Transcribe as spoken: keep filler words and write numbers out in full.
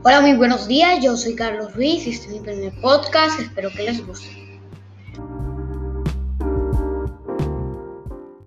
Hola, muy buenos días, yo soy Carlos Ruiz y este es mi primer podcast, espero que les guste.